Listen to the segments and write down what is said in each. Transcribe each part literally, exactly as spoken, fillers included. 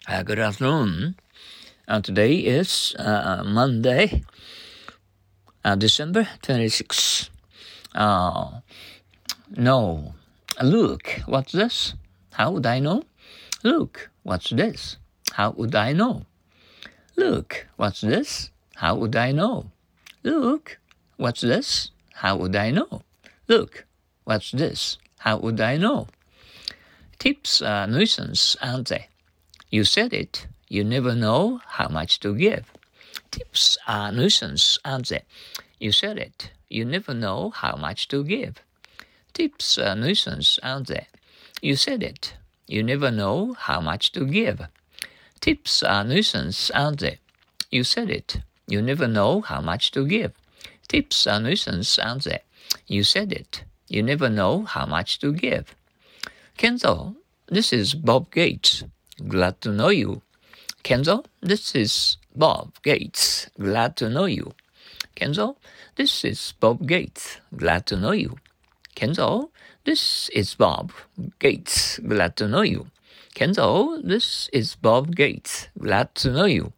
Uh, good afternoon. Uh, today is uh, Monday, uh, December twenty-sixth. Uh, no. Look, what's this? How would I know? Look, what's this? How would I know? Look, what's this? How would I know? Look, what's this? How would I know? Look, what's this? How would I know? Tips are nuisance, aren't they? You said it. You never know how much to give. Tips are nuisance, aren't they? You said it. You never know how much to give. Tips are nuisance, aren't they? You said it. You never know how much to give. Tips are nuisance, aren't they? You said it. You never know how much to give. Tips are nuisance, aren't they? You said it. You never know how much to give. Kenzo, this is Bob Gates. Glad to know you. Kenzo, this is Bob Gates. Glad to know you. Kenzo, this is Bob Gates. Glad to know you. Kenzo, this is Bob Gates. Glad to know you. Kenzo, this is Bob Gates. Glad to know you.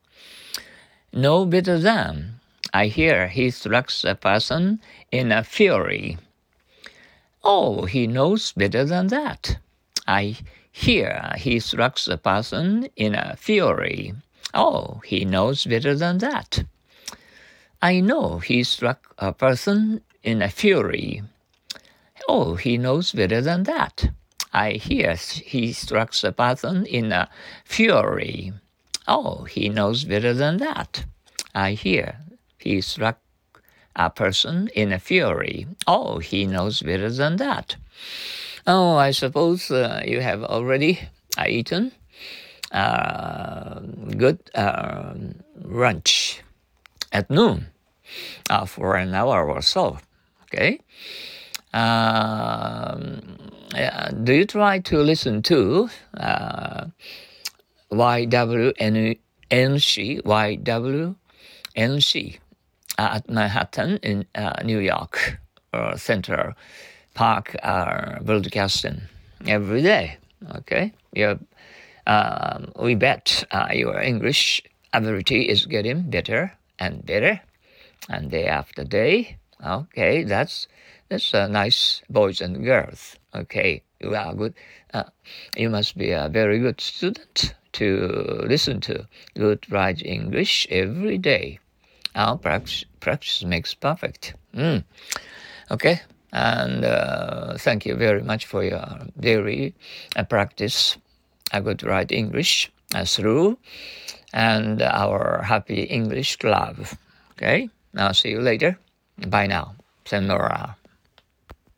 No better than. I hear he strikes a person in a fury. Oh, he knows better than that. I hear he strikes a person in a fury. Oh, he knows better than that. I know he struck a person in a fury. Oh, he knows better than that. I hear he strikes a person in a fury. Oh, he knows better than that. I hear he struck a person in a fury. Oh, he knows better than that. Oh, I suppose uh, you have already uh, eaten uh, good uh, lunch at noon uh, for an hour or so. Okay. Um, yeah, do you try to listen to uh, Y W N C, Y W N C uh, at Manhattan in uh, New York uh, Central Park uh, broadcasting every day? Okay, you um, we bet uh, your English ability is getting better and better, and day after day. Okay, that's that's uh, nice, boys and girls. Okay, you are good. Uh, you must be a very good student to listen to good right English every day. Our practice, practice makes perfect. Mm. Okay, and uh, thank you very much for your daily uh, practice. A good right English uh, through, and our Happy English Club. Okay, now see you later. Bye now. Senora.